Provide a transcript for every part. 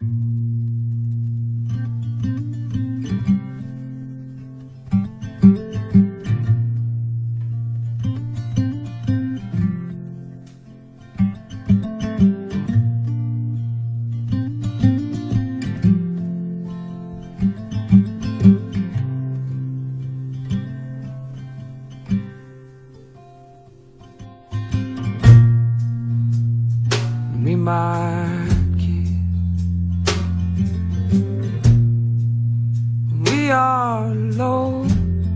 We might kiss when we are alone.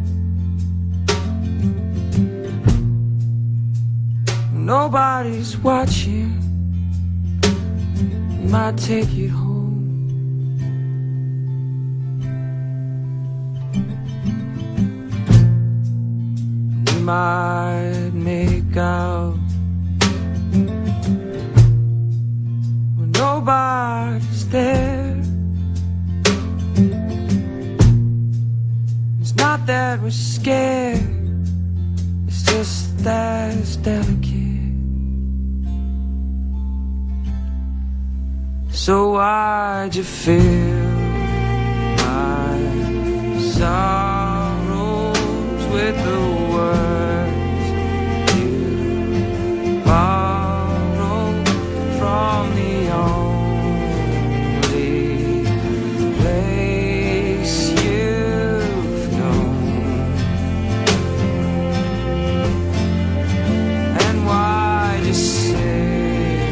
When nobody's watching, we might take it home. We might make out nobody's there. It's not that we're scared, it's just that it's delicate. So why'd you fill my sorrows with the words you borrowed from the only place you've known? And why'd you say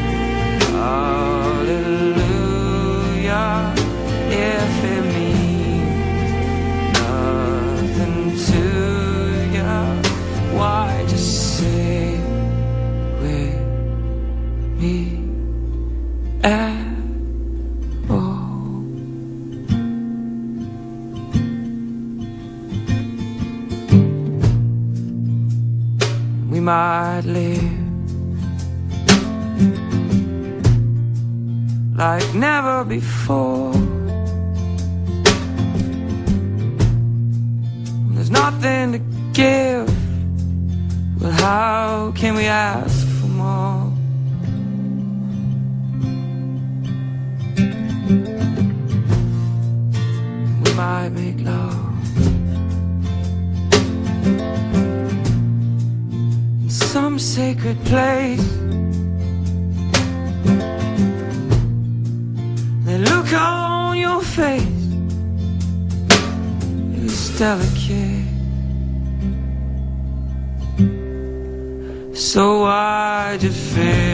hallelujah if it means nothing to you? Why'd you say with me at all? We might live like never before. When there's nothing to give, well, how can we ask for more? We might make love in some sacred place. The look on your face is delicate. So why'd you feel